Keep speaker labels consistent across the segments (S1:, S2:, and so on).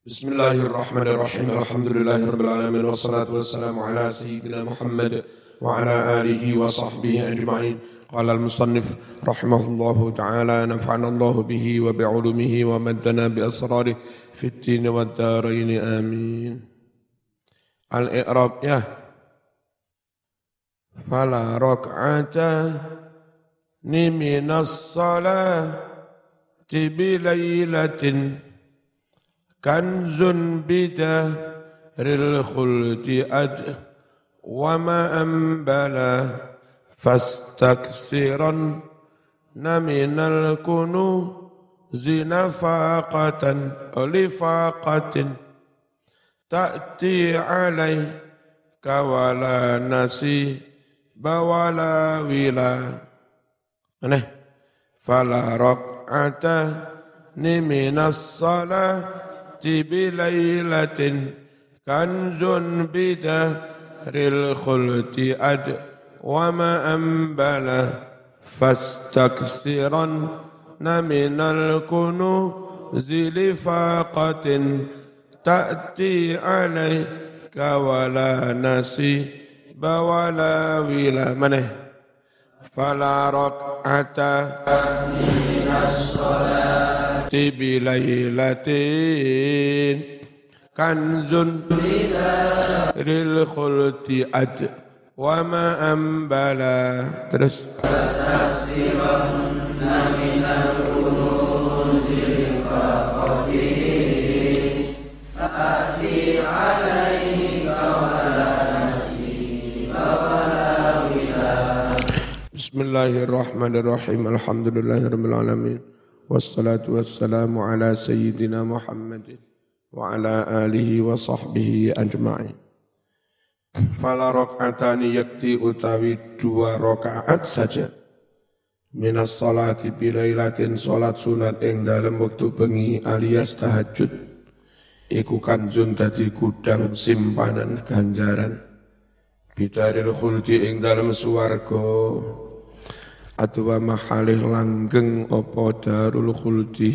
S1: Bismillahirrahmanirrahim. Alhamdulillahirabbil alamin wassalatu wassalamu ala sayyidina Muhammad wa ala alihi wa sahbihi ajma'in. Qala al-musannif rahimahullahu ta'ala nafa'ana Allahu bihi wa bi'ulumihi wa maddana bi asrarihi fid din wad darain amin. Al-i'rab ya. Fala rak'ata ni minas salati bi lailatin kanzun bidahril khuldi wa ma ambala fastaksiran minal kunuzi nafaqatan lifaqatin ta'ti alaika wala nasiba wala wila aneh fala rak'ata ni minas salah bilailatin kanzun bidahril khulti wa ma ambala fastaksiran minal kunuzi lifaqatin ta'ti alaika wala nasiba wala wila maneh fala rak'ata minas salati bilailatin kanzun bidahril khulti wa ma ambala terus fastaghfirunna minal kunuzi faqati ati alaika wala nasiba wala wila. Bismillahirrahmanirrahim. Alhamdulillahirabbil alamin. Wassalatu wassalamu ala sayyidina Muhammadin wa ala alihi wa sahbihi ajma'in. Fala rak'atani yakti utawi 2 rakaat saja. Minas salati bilailatin salat sunat ing dalem wektu bengi alias tahajud. Iku kanjun dadi gudang simpanan ganjaran. Bidaril khuldi ing dalem swarga. Atwa mahalih langgeng apa darul khuldi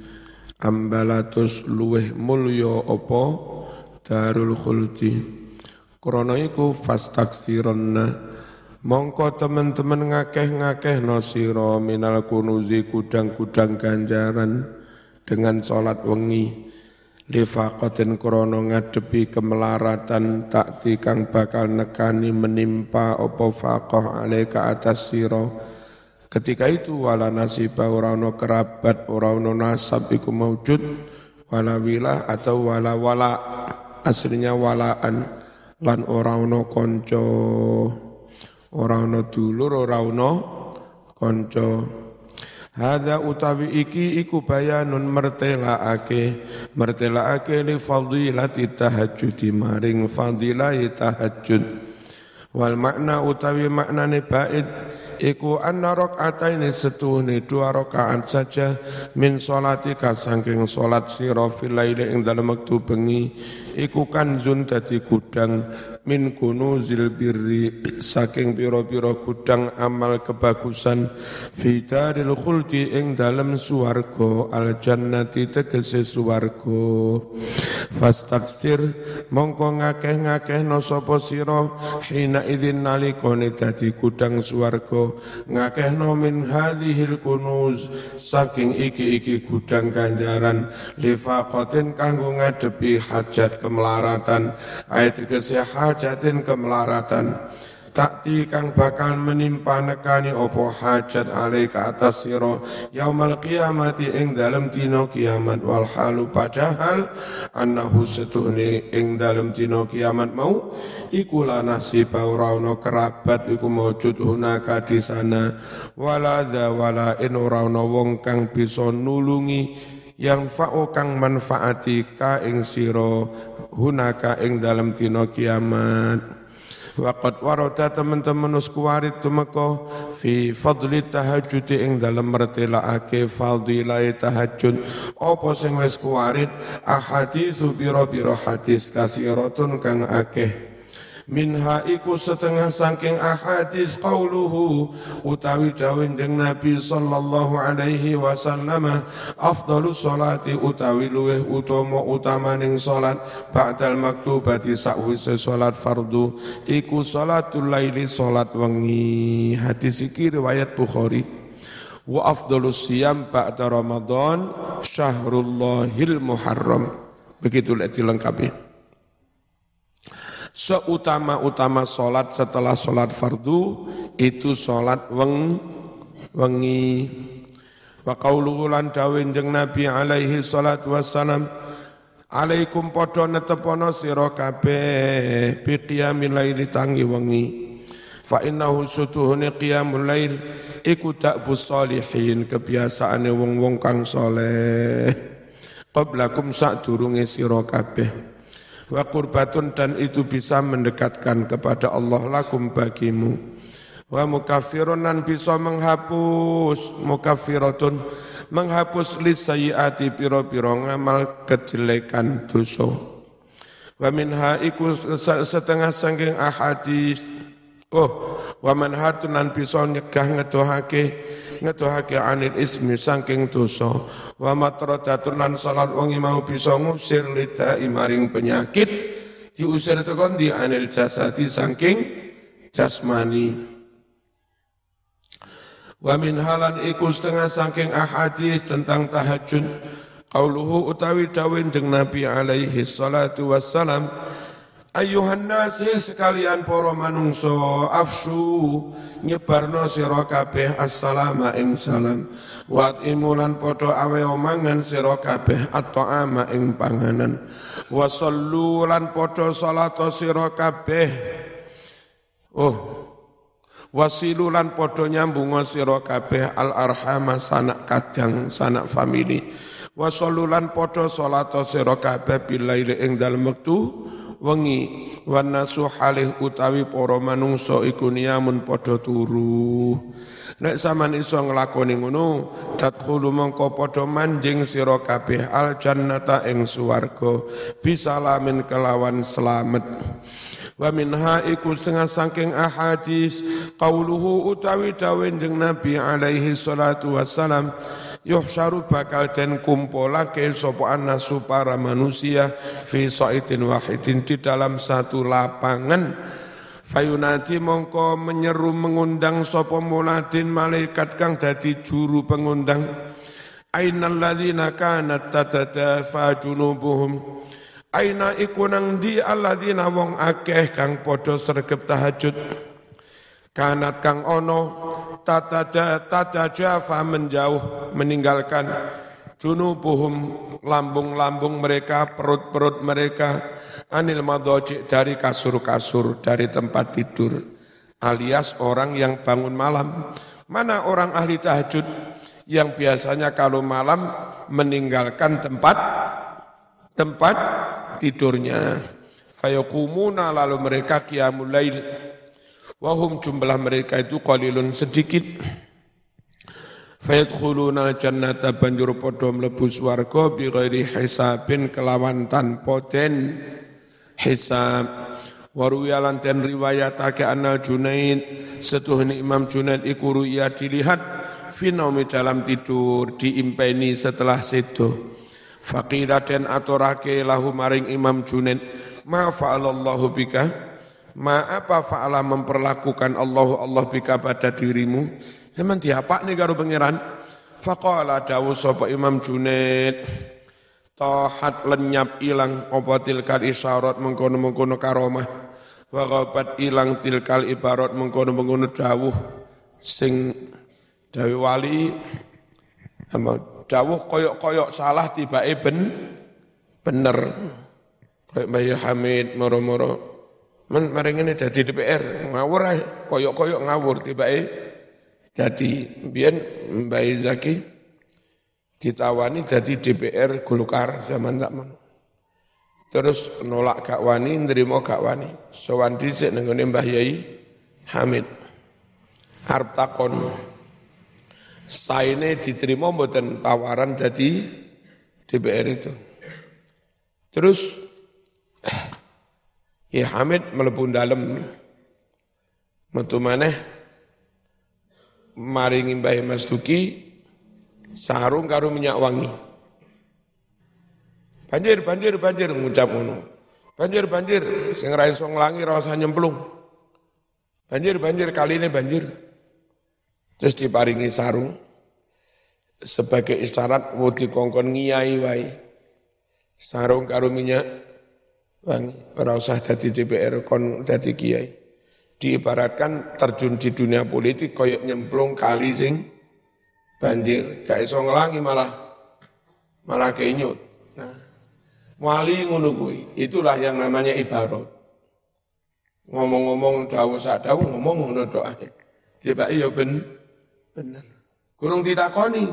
S1: ambalatus luweh mulya apa darul khuldi krana iku fastaksironna mongko teman-teman ngakeh-ngakehno sira minal kunuzi gudang-gudang ganjaran dengan salat wengi lifaqatin krana ngadepi kemelaratan takti kang bakal nekani menimpa apa faqah alaika atas sira. Ketika itu wala nasiba ora ana kerabat, ora ana nasab iku maujud, wala wila atau wala wala aslinya walaan lan ora ana kanca, ora ana dulur, ora ana kanca. Hadza utawi iki iku bayanun mertelaake li fadilati tahajjud maring fadilah tahajud. Wal makna utawi maknane bait iku anna rak'ataini setuhne 2 rakaat saja min sholatika saking salat sira fil laili ing dalem wektu bengi iku kanzun dadi gudang min kunuzil birri saking pira-pira gudang amal kebagusan fi daril khuldi ing dalem swarga al jannati tegese swarga fastaksir mongko ngakeh-ngakehno sapa sira hina idzin nalikane dadi gudang swarga ngakehno min hadhil kunuz saking iki gudang ganjaran lifaqatin kanggo ngadepi hajat kemelaratan ayat kesehajatin kemelaratan takti kang bakal menimpa nekani opo hajat alaika atas sira yaumal qiyamati ing dalem dina kiamat wal halu padahal annahu setuhne ing dalem dina kiamat mau iku la nasiba ora ana kerabat iku maujud hunaka di sana wala dza wala in ora ana wong kang bisa nulungi yang fa'u kang manfaati ka ing sira hunaka ing dalem dina kiamat. Waqad warada teman-teman uskuwarit tumeka fi fadli tahajud ing dalem mertelaake fadilah tahajud apa sing wis kuwarit ahaditsu biro hadis kasiratun kang akeh Minha iku setengah saking ahadits qauluhu utawi dawuh Nabi sallallahu alaihi wasallam afdhalus sholati utawi luweh utamaning salat ba'dal maktubati sakwise salat fardu iku salatul laili salat wengi. Hadis iki riwayat Bukhari. Wa afdhalus siyam ba'da Ramadan syahrullahil muharram. Begitu dilengkapi. Seutama-utama solat setelah solat fardu itu solat wengi. Wa qauluhu lan dawuh Nabi alaihi salatu wassalam alaikum padha netepono sira kabeh bi qiyamil laili tangi wengi. Fa innahu sutuhune qiyamul lail iku ta'bus sholihin kebiasaane wong-wong kang saleh qablakum sadurunge sira kabeh. Wa qurbatun dan itu bisa mendekatkan kepada Allah lakum bagimu. Wa mukaffirun dan bisa menghapus mukaffiratun menghapus lisayyiati piro-piro ngamal kejelekan dosa. Wa minha iku setengah saking ahadits wa manhatun dan bisa nyegah ngedohake anil ismi saking dosa wa matradatun lan salat wengi mau bisa ngusir lidai maring penyakit diusir tekan di anil jasadi saking jasmani. Wa min halan iku setengah saking ahadits tentang tahajud qauluhu utawi dawuh Nabi alaihi salatu wassalam Ayuhan nasi sekalian para manungso afsu nyebarno sira kabeh assalama ing salam wa imulan padha awe mangan sira kabeh at'ama ing panganan wa sallu lan padha salat sira kabeh wasilu lan padha nyambung sira kabeh al arhama sanak kadang sanak famili wa sallu lan padha salat sira kabeh bilail ing dalem wektu wengi wan nasu halih utawi para manungsa iku niyamun padha turu. Nek sampean iso nglakoni ngono tadkhulu mongko padha manjing sira kabeh al jannata ing swarga bisalamin kelawan selamet. Wa minha iku setengah saking ahadits qauluhu utawi dawuh Nabi alaihi salatu wassalam yuhsyaru bakal den kumpulake sapa annasu para manusia fi sa'itin wahidin di dalam satu lapangan fayunati mongko menyeru mengundang sapa muladin malaikat kang dadi juru pengundang ainal ladzina kanat tatadafa junubuhum aina iku nang di alladzina wong akeh kang padha sregep tahajud kanat kang ono tatajafa menjauh meninggalkan junubuhum lambung-lambung mereka perut-perut mereka anil madaji dari kasur-kasur dari tempat tidur alias orang yang bangun malam. Mana orang ahli tahajud yang biasanya kalau malam meninggalkan tempat tidurnya fayaqumuna lalu mereka qiyamul lail wahum jumlah mereka itu qalilun sedikit fayadkhuluna jannata banjur padha mlebu swarga bi ghairi hisabin kelawan tanpa den hisab waruyalan den riwayatake anal Junaid setuhni Imam Junaid iku ruya dilihat fi naumi dalam tidur diimpeni setelah sedo faqila den aturake lahu maring Imam Junaid ma fa'alallahu bika ma apa fa'ala memperlakukan Allah bika pada dirimu zaman diapak nih karo pangeran faqala dawu sapa Imam Junaid tahat lenyap ilang apa tilkal isyarat mengkono-mengkono karomah wa ghabat ilang tilkal ibarat mengkono-mengkono dawuh sing dawuh wali dawuh koyok-koyok salah tibake bener koyok Mbah Hamid moro-moro maring ini jadi DPR ngawur ae koyok-koyok ngawur tibake jadi biyen Mbah Zaki ditawani jadi DPR Golkar zaman takman terus nolak gak wani nrimo gak wani sowan dhisik nang ngene Mbah Yai Hamid arep takon saene diterima mboten tawaran jadi DPR itu terus Ya Hamid mlebu dalem metu maneh maringi Mbah Mas Duki sarung karo minyak wangi. Banjir ngucap ngono. Banjir sing ra iso nglangi ra usah nyemplung. Banjir kaline banjir. Terus diparingi sarung sebagai isyarat wedi kongkon ngiyai wae. Sarung karo minyak wangi, ora usah dadi DPR kon dadi kiai. Diibaratkan terjun di dunia politik koyok nyemplung kali sing banjir, gak iso nglangi malah kenyut. Nah, wali ngono kuwi, itulah yang namanya ibarat. Ngomong-ngomong dawuh sak dawuh ngomong ngono tok ae. Tibake ya bener. Kurang ditakoni.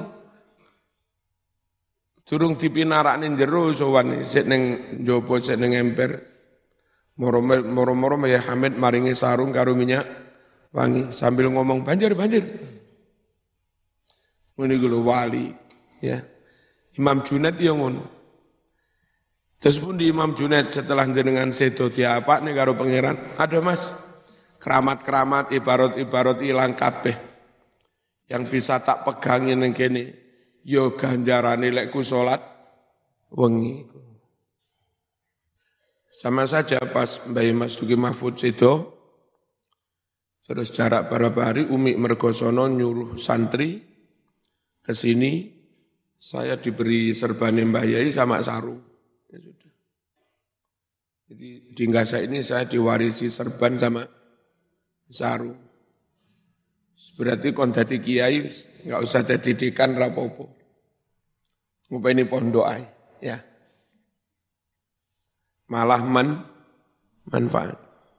S1: Durung dipinarakne jero sowan sik ning njaba sik ning emper. Moro-moro ya Hamid maringi sarung karo minyak wangi sambil ngomong banjir. Ngene iku lho wali ya. Imam Junaid ya ngono. Terus pun di Imam Junaid setelah jenengan sedo diapakne karo pangeran, ada Mas keramat-keramat ibarat ilang kabeh. Yang bisa tak pegangin ning kene yo ganjarane lek ku salat wengi. Sama saja pas Mbah Mas Duki Mahfud sedo terus jarak berapa hari Umi Mergosono nyuruh santri ke sini, saya diberi serbane Mbah Yai sama sarung. Ya sudah. Jadi di Ngasa ini saya diwarisi serban sama sarung. Berarti kon dadi kiai enggak usah dadi dekan rapopo. Ngupeni pondok ae, ya. Malah manfaat.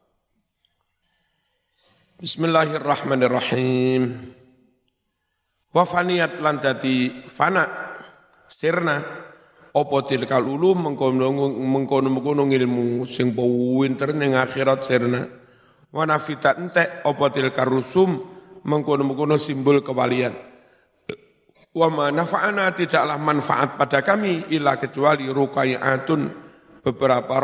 S1: Bismillahirrahmanirrahim. Wa faniyat lan dadi fana sirna apa tilkal ulum mengkono ilmu sing pinter ning akhirat sirna. Wa nafitat entek apa tilkar rusum mengkono simbol kewalian. Wa ma nafa'ana tidaklah manfaat pada kami illa kecuali ruqai'atun beberapa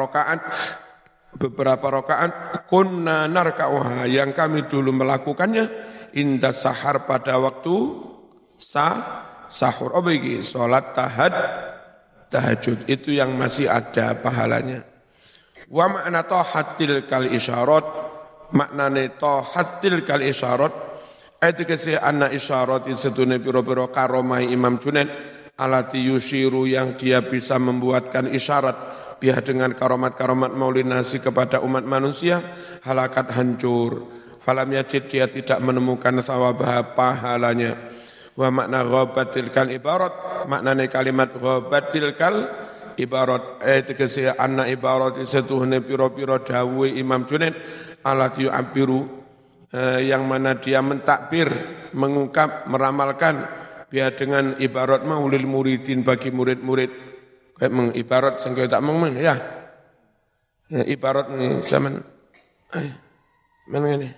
S1: rakaat kunna narka'uha yang kami dulu melakukannya inda sahar pada waktu sahur. Oh begini, salat tahajud itu yang masih ada pahalanya. Wa ma'na tahatil kal isyarat maknane tahatil kal isyarat ayat kese anna isyarat setune pira-pira karomai Imam Junaid alati yushiru yang dia bisa membuatkan isyarat biha dengan karomat-karomat maulinasi kepada umat manusia halakat hancur falam yajid dia tidak menemukan sawabah pahalanya wa makna ghabatil kal ibarat maknane kalimat ghabatil kal ibarat ayat kese anna ibarat setune pira-pira dawuh Imam Junaid alati yu'abbiru yang mana dia mentakbir, mengungkap, meramalkan biar dengan ibarat maulil muridin bagi murid-murid. Kayak mengibarat sing tak meng ya. Ya ibarat ni zaman men ngene.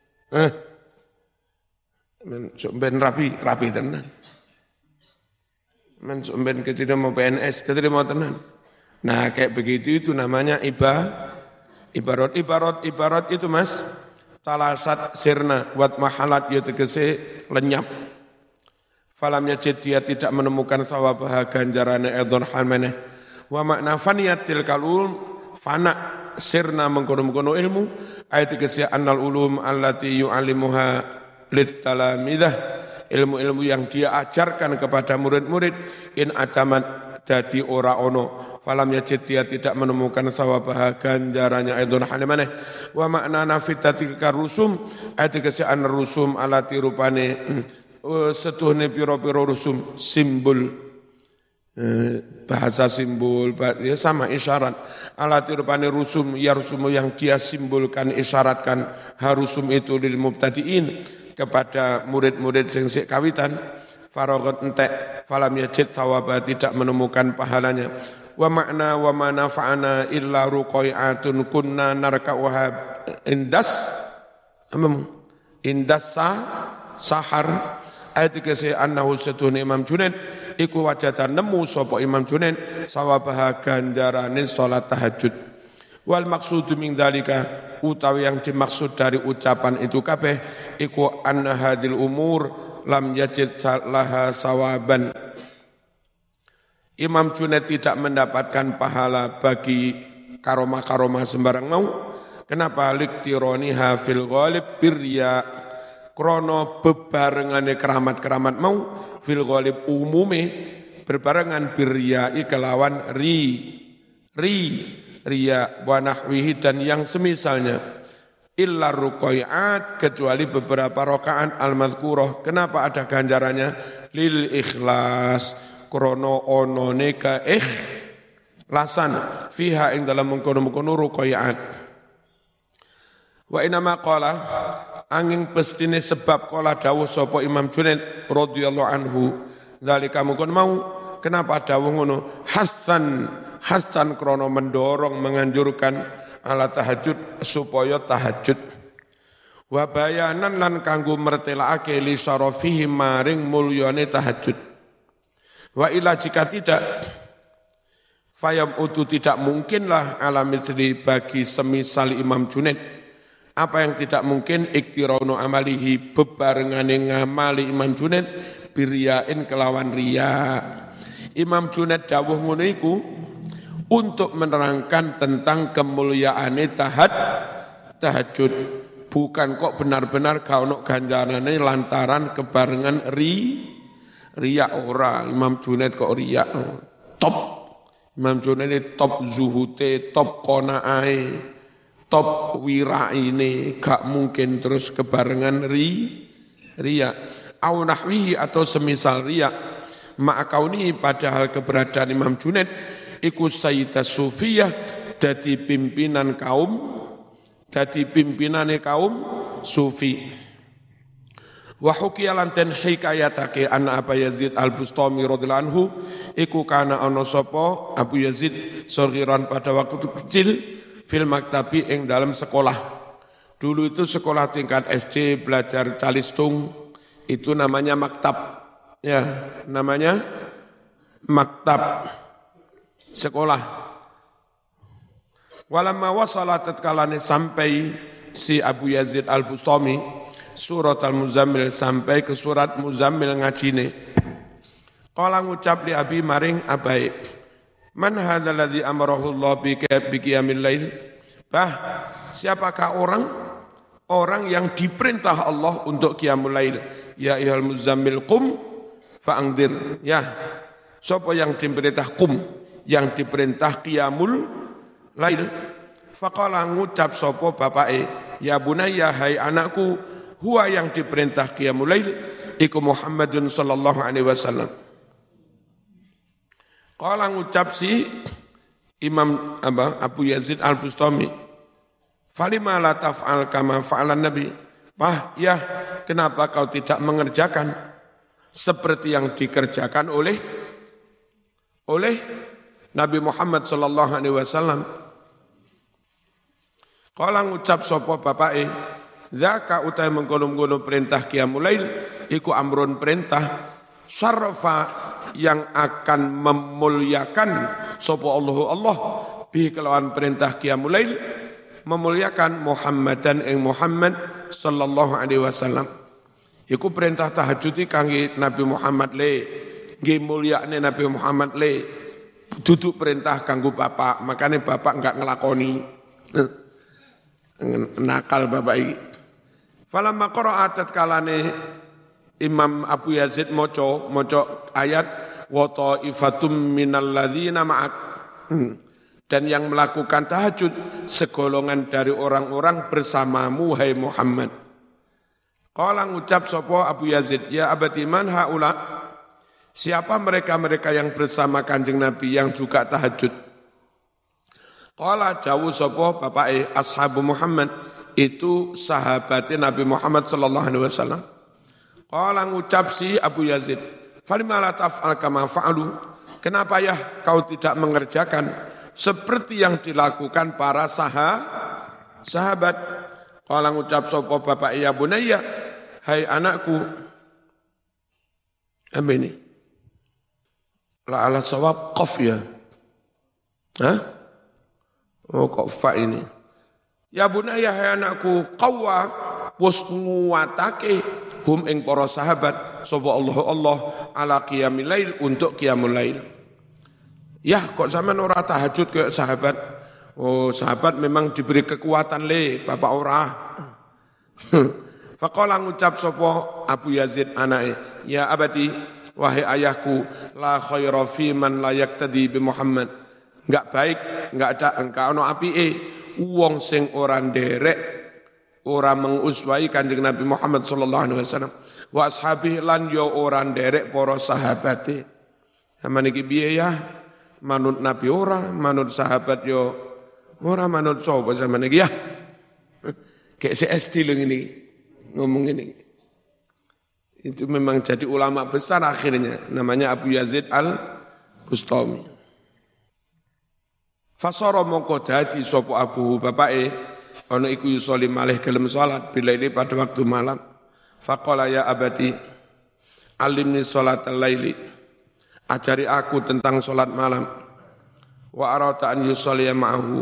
S1: Men ben rapi tenan. Men ben keterima PNS, keterima tenan. Nah, kayak begitu itu namanya ibarat itu Mas. Talasat sirna wat mahalat ya tegese lenyap. Falam yajid dia tidak menemukan thawabah ganjarane edon halmaneh. Wa makna faniyatil kalul fana sirna mengkono-mengkono ilmu ayat tegese annal ulum allati yu'allimuha lit talamidah ilmu-ilmu yang dia ajarkan kepada murid-murid in atamat dadi ora ono falam yajid dia tidak menemukan sawabah ganjarannya aidon halimane wa makna nafitatil karusum ayat kese an rusum alati rupane setuhne pira-pira rusum simbol bahasa simbol ya sama isyarat alati rupane rusum ya rusum yang dia simbolkan isyaratkan harusum itu lil mubtadiin kepada murid-murid sing sik kawitan faragat entek falam yajid thawaba tidak menemukan pahalanya wa makna wa ma nafa'ana illa ruqai'atun kunna narka'uha indas sahar ayat kese annahu satun Imam Junaid iku wajatan nemu sapa Imam Junaid sawabah ganjarane salat tahajud Wal maksudu min dzalika utawi yang dimaksud dari ucapan itu kabeh iku anna hadil umur lam yajid laha sawaban. Imam Junaid tidak mendapatkan pahala bagi karomah-karomah sembarang mau. Kenapa? Liktironiha fil ghalib birya, krono bebarengane keramat-keramat mau fil ghalib umume berbarengan birya kelawan riya wa nahwihi dan yang semisalnya illa ruqai'at kecuali beberapa rakaat al-mazkurah. Kenapa ada ganjarannya? Lil ikhlas krono onone ka ikhlasan fiha ing dalam mengkono-mengkono ruqai'at. Wa inama qala angin pestine sebab qala dawuh sapa Imam Junaid radhiyallahu anhu zalika mungkon mau kenapa dawuh ngono Hasan krono mendorong menganjurkan ala tahajud supaya tahajud wa bayanan lan kanggo mertelaake li syarafihi maring mulyane tahajud wa ila jika tidak fayam utu tidak mungkinlah ala misli bagi semisal Imam Junaid apa yang tidak mungkin iktirano amalihi bebarengane ngamali Imam Junaid biryain kelawan riya. Imam Junaid dawuh ngono iku untuk menerangkan tentang kemuliaane tahajud. Bukan kok benar-benar kaono ganjarane lantaran kebarengan riya ora. Imam Junaid kok riya top. Imam Junaid top zuhute, top qanaa'e, top wiraine, gak mungkin terus kebarengan riya. Au nahwihi atau semisal riya. Ma'akauni padahal keberadaan Imam Junaid iku sayyidah sufiyah dadi pimpinane kaum sufi. Wa hukiya lan ten hikayatake anna Abu Yazid Al-Bustami radhiyallahu anhu iku kana ana sapa Abu Yazid saghiran pada waktu kecil fil maktabi ing dalam sekolah. Dulu itu sekolah tingkat SD belajar calistung itu namanya maktab. Ya, namanya maktab. Sekolah. Walamma wasala tatkalane sampai si Abu Yazid Al-Bustami surat Al-Muzammil sampai ke surat Muzammil ngajine. Qala ngucap li abi maring abai. Man hadzal ladzi amarahu Allah bi qiyamil lail? Bah, siapakah orang yang diperintah Allah untuk qiyamul lail? Ya ayyuhal muzammil qum fa'angdir. Ya. Sapa yang diperintah qum? Yang diperintah qiyamul lail. Faqala ngucap sapa bapake, ya bunayya hai anakku, huwa yang diperintah qiyamul lail iku Muhammadun sallallahu alaihi wasallam. Qala ngucap si Imam Abu Yazid Al-Bustami, falima la taf'al kama fa'alan nabi? Bah, ya, kenapa kau tidak mengerjakan seperti yang dikerjakan oleh Nabi Muhammad sallallahu alaihi wasallam? Qala ngucap sapa bapake, zaka utai mengkono-kono perintah qiyamul lail iku amrun perintah syarrafa yang akan memuliakan sapa Allah bi kelawan perintah qiyamul lail memuliakan Muhammadan ing Muhammad sallallahu alaihi wasallam. Iku perintah tahajud kangge Nabi Muhammad le, nggih mulyakne Nabi Muhammad le. Duduk perintah kanggo bapak, makanya bapak enggak ngelakoni. Nakal bapak iki. Falamma qara'at tatkalane Imam Abu Yazid moco ayat wa ta'ifatum minal ladzina ma'ak. Dan yang melakukan tahajud segolongan dari orang-orang bersamamu hai Muhammad. Qala ngucap sapa Abu Yazid, ya abati man haula? Siapa mereka-mereka yang bersama Kanjeng Nabi yang juga tahajud? Qala dawuh sapa bapake ashabu Muhammad, itu sahabatnya Nabi Muhammad sallallahu alaihi wasallam. Qala ngucap si Abu Yazid, falima la taf'al kama fa'alu? Kenapa ya kau tidak mengerjakan seperti yang dilakukan para sahabat? Qala ngucap sapa bapak ya bunayya, hai anakku. Apa ini? La ala sawab qaf ya. Hah? Oh kok fa ini. Ya bunaya hai anakku, qawwa wis nguwatake hum ing para sahabat sapa Allah ala qiyamil lail untuk qiyamul lail. Ya kok sampean ora tahajud kayak sahabat? Oh sahabat memang diberi kekuatan bapak ora. Faqala ngucap sapa Abu Yazid anake, ya abati wahai ayahku, la khaira fi man la yaqtadi bi Muhammad. Enggak baik, enggak ono apike wong sing ora nderek, ora menguswai Kanjeng Nabi Muhammad sallallahu alaihi wasallam. Wa ashabihi lan yo ora nderek para sahabate. Sampeyan iki piye ya? Manut Nabi ora, manut sahabat yo ora, manut sapa sampeyan iki ya? Kayak SD lho ngene ngomong ini. Itu memang jadi ulama besar akhirnya, namanya Abu Yazid Al-Bustami. Fasara mongko dadi sapa Abu bapake ana iku yusolli malih gelem salat bila ini pada waktu malam. Faqala ya abati alimni salatal laili, ajari aku tentang salat malam. Wa arata an yusolli ma'ahu,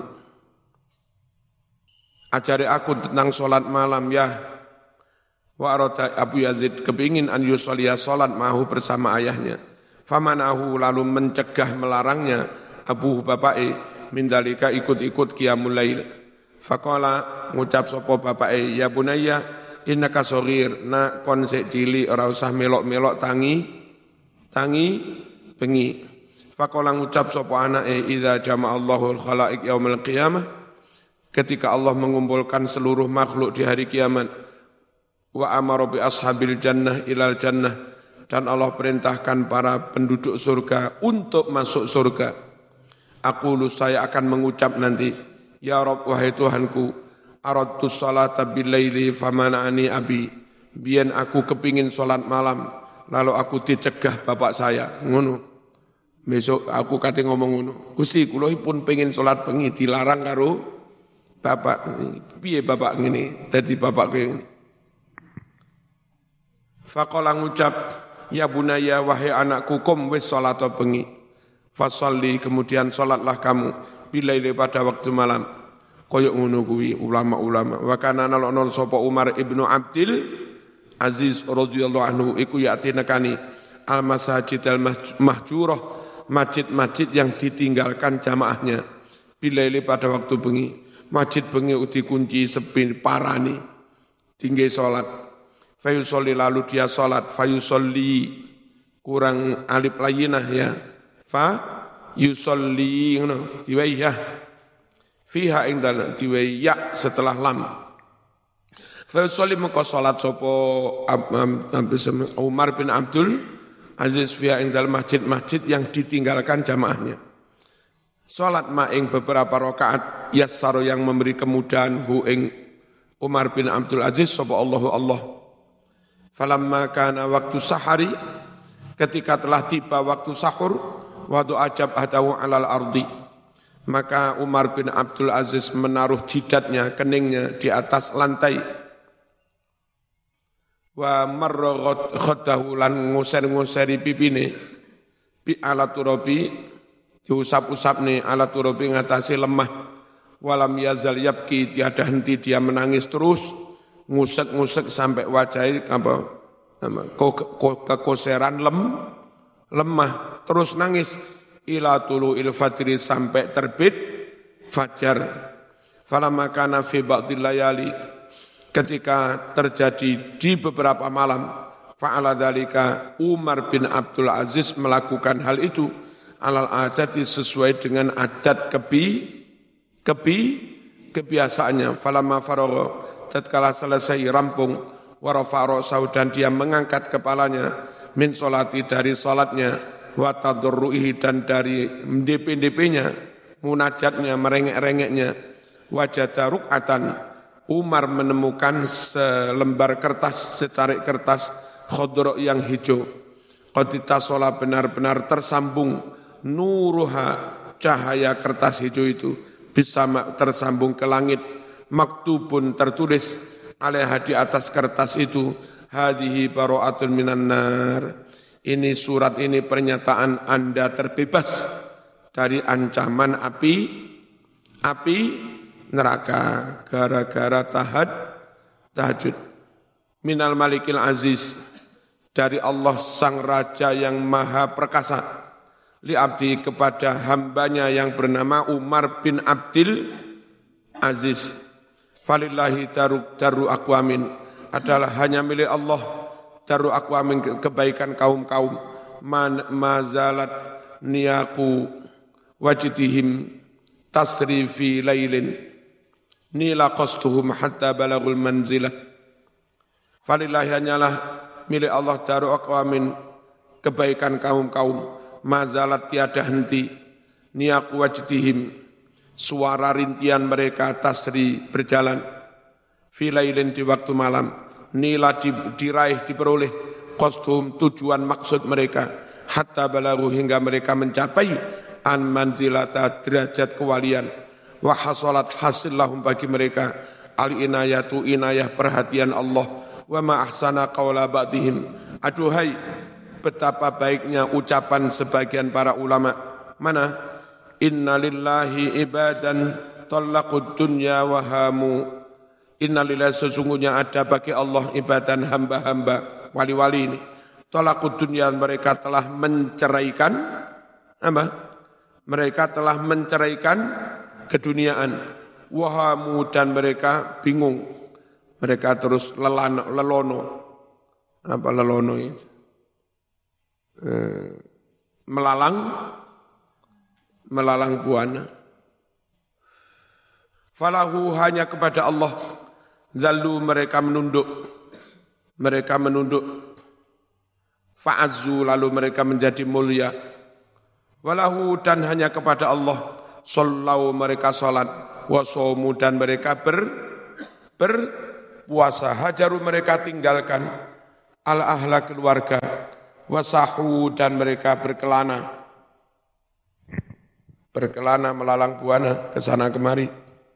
S1: ajari aku tentang salat malam ya. Wa arata Abu Yazid kepingin an yusolli salat ma'ahu bersama ayahnya. Famanahu lalu mencegah melarangnya Abu bapake mindalika ikut-ikut qiyamul lail. Faqala ngucap sapa bapake, ya bunayya innaka shaghir, nak kon sik cilik ora usah melok-melok tangi bengi. Faqala ngucap sapa anake, idza jama'allahu al-khalaiq yaumil qiyamah, ketika Allah mengumpulkan seluruh makhluk di hari kiamat, wa amara bi ashabil jannah ilal jannah, dan Allah perintahkan para penduduk surga untuk masuk surga. Aqulu, saya akan mengucap nanti, ya Rabb wahai Tuhanku, aradtu salata bil laili famana'ani abi, biyen aku kepingin salat malam lalu aku dicegah bapak saya. Ngono. Besok aku kate ngomong ngono. Gusti kula pun pengin salat bengi dilarang karo bapak. Piye bapak ngene? Dadi bapak ngene. Faqala ngucap, ya bunaya wahai anakku, kum wis salat bengi. Fasalli, kemudian salatlah kamu bilaili pada waktu malam. Koyok ngono kuwi ulama-ulama. Wa kana nalon sapa Umar ibnu Abdul Aziz radhiyallahu anhu iku yati nekani al masajid al mahjurah, masjid-masjid yang ditinggalkan jamaahnya. Bilaili pada waktu bengi. Masjid bengi dikunci sepi parani. Tinggi salat. Fayusolli, lalu dia salat. Fayusolli kurang alif layinah ya. Fa yusolli ngono diwayah fiha ing dalem diwayah setelah lam. Fa yusolli maka salat sapa Umar bin Abdul Aziz fiha ing dalem masjid-masjid yang ditinggalkan jamaahnya. Salat ma ing beberapa rakaat yassaro yang memberi kemudahan hu ing Umar bin Abdul Aziz sapa Allah. Falamma kana waktu sahari, ketika telah tiba waktu sahur, wadu ajab hadahu alal ardi, maka Umar bin Abdul Aziz menaruh jidatnya, keningnya di atas lantai. Wa marra khaddahu lan nguser-nguseri pipine bi ala turabi, diusap-usapne ala turabi ngatasi lemah. Walam yazal yabki, tiada henti dia menangis terus, ngusek-ngusek sampai wajahnya kekoseran lemah, terus nangis ila tulu'il fajri, sampai terbit fajar. Falamma kana fi ba'dil layali, ketika terjadi di beberapa malam, fa'ala dzalika Umar bin Abdul Aziz melakukan hal itu alal adati, sesuai dengan adat kebiasaannya. Falamma faragha, tatkala selesai rampung, wa rafa'a ra'sahu, dan dia mengangkat kepalanya, min solati, dari salatnya, wa tadarruihi, dan dari DP-DP-nya, munajatnya, merengek-rengeknya, wajada ruk'atan, Umar menemukan selembar kertas, secarik kertas khadra yang hijau. Qadita sholat, benar-benar tersambung, nuruha, cahaya kertas hijau itu, bisa tersambung ke langit, maktubun, tertulis, alaiha, di atas kertas itu, hadhihi bara'atun minan nar, ini surat, ini pernyataan Anda terbebas dari ancaman api api neraka gara-gara tahajud. Minal Malikil Aziz, dari Allah Sang Raja yang Maha Perkasa, li abdi kepada hambanya yang bernama Umar bin Abdul Aziz. Falillahi daru aqwamin, adalah hanya milik Allah daru aqwamin, kebaikan kaum-kaum. Mazalat niyaku wajdihim tasri fi lailin nila qastuhum hatta balagul manzilah. Falillahi hanyalah milik Allah daru aqwamin, kebaikan kaum-kaum. Mazalat tiada henti niyaku wajdihim, suara rintian mereka, tasri berjalan, filailin di waktu malam, nila diraih diperoleh, qasduhum tujuan maksud mereka, hatta balagu hingga mereka mencapai an manzilata derajat kewalian, wa hasalat hasil lahum bagi mereka al inayatu inayah perhatian Allah, wa ma ahsana qawla ba'dihim, aduhai betapa baiknya ucapan sebagian para ulama. Mana? Inna lillahi ibadan talaqud dunya wa hamu. Inna lillahi, sesungguhnya ada bagi Allah ibadan hamba-hamba wali-wali ini. Talaqud dunya, mereka telah menceraikan apa? Mereka telah menceraikan keduniaan. Wa hamu, dan mereka bingung. Mereka terus lelono. Apa lelono itu? Melalang buana. Falahu, hanya kepada Allah. Zallu, mereka menunduk. Fa'azzu, lalu mereka menjadi mulia. Walahu, dan hanya kepada Allah. Sallau, mereka salat. Wasomu, dan mereka berpuasa. Hajaru, mereka tinggalkan al-ahla, keluarga. Wasahu, dan mereka berkelana melalang buana kesana kemari.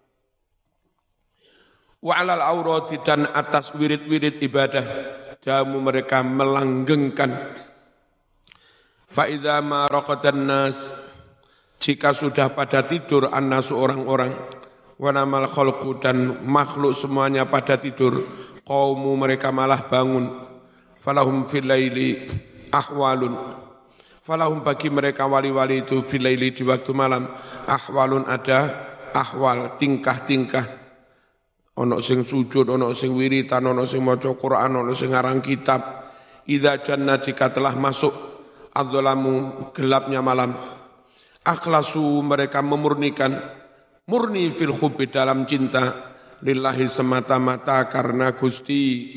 S1: Wa alal aurati, dan atas wirid-wirid ibadah jamu mereka melanggengkan. Fa idza ma raqatan nas, jika sudah pada tidur annasu orang-orang, wa namal khalqu, dan makhluk semuanya pada tidur, qaumu mereka malah bangun. Falahum fil laili ahwalun, falahum bagi mereka wali-wali itu fil laili di waktu malam, ahwalun, ada ahwal, tingkah-tingkah. Ono sing sujud, ono sing wiritan, ono sing maca Quran, ono sing ngarang kitab. Idza janna, jika telah masuk adzalamu, gelapnya malam, akhlasu, mereka memurnikan, murni fil hubbi, dalam cinta, lillahi, semata-mata karena Gusti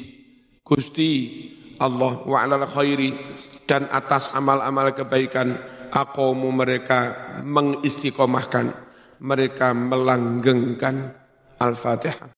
S1: Allah. Wa alal khairi, dan atas amal-amal kebaikan, aqomu, mereka mengistiqomahkan, mereka melanggengkan. Al-Fatihah.